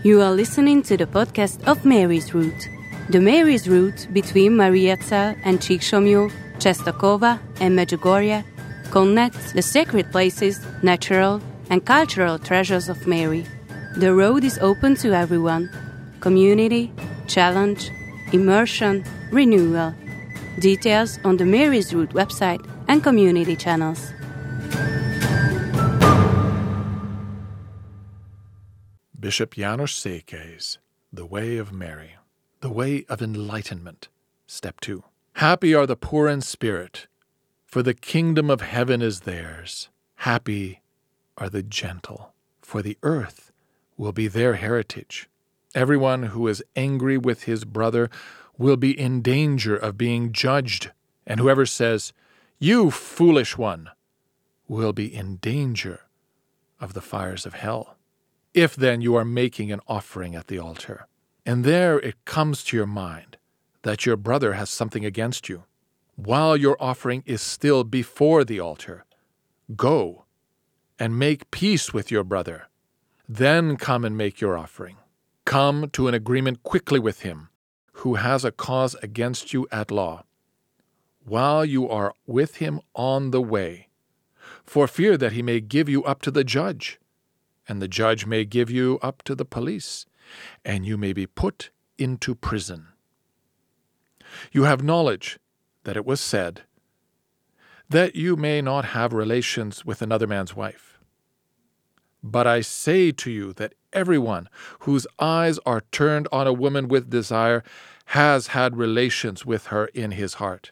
You are listening to the podcast of Mary's Route. The Mary's Route between Mariazell and Csíksomlyó, Czestochowa and Medjugorje connects the sacred places, natural and cultural treasures of Mary. The road is open to everyone. Community, challenge, immersion, renewal. Details on the Mary's Route website and community channels. Bishop János Székely's The Way of Mary, The Way of Enlightenment, Step 2. Happy are the poor in spirit, for the kingdom of heaven is theirs. Happy are the gentle, for the earth will be their heritage. Everyone who is angry with his brother will be in danger of being judged, and whoever says, "You foolish one," will be in danger of the fires of hell. If then you are making an offering at the altar, and there it comes to your mind that your brother has something against you, while your offering is still before the altar, go and make peace with your brother. Then come and make your offering. Come to an agreement quickly with him who has a cause against you at law, while you are with him on the way, for fear that he may give you up to the judge, and the judge may give you up to the police, and you may be put into prison. You have knowledge that it was said that you may not have relations with another man's wife. But I say to you that everyone whose eyes are turned on a woman with desire has had relations with her in his heart.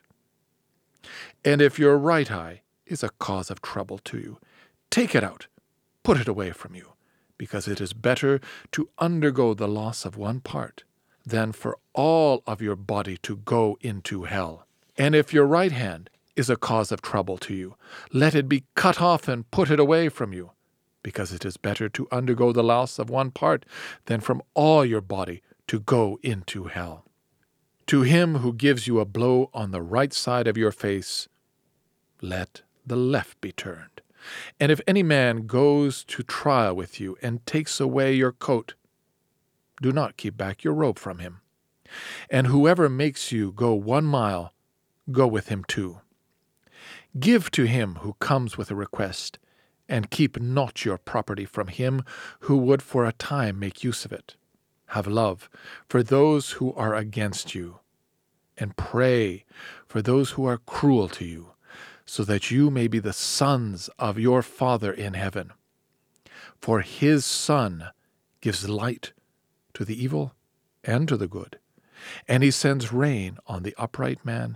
And if your right eye is a cause of trouble to you, take it out. Put it away from you, because it is better to undergo the loss of one part than for all of your body to go into hell. And if your right hand is a cause of trouble to you, let it be cut off and put it away from you, because it is better to undergo the loss of one part than from all your body to go into hell. To him who gives you a blow on the right side of your face, let the left be turned. And if any man goes to trial with you and takes away your coat, do not keep back your robe from him. And whoever makes you go 1 mile, go with him 2. Give to him who comes with a request, and keep not your property from him who would for a time make use of it. Have love for those who are against you, and pray for those who are cruel to you, so that you may be the sons of your Father in heaven. For his Son gives light to the evil and to the good, and he sends rain on the upright man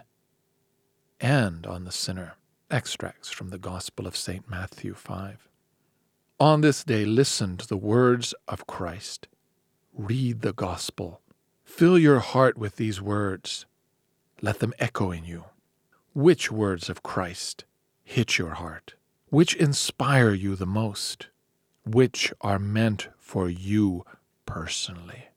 and on the sinner. Extracts from the Gospel of St. Matthew 5. On this day, listen to the words of Christ. Read the Gospel. Fill your heart with these words. Let them echo in you. Which words of Christ hit your heart? Which inspire you the most? Which are meant for you personally?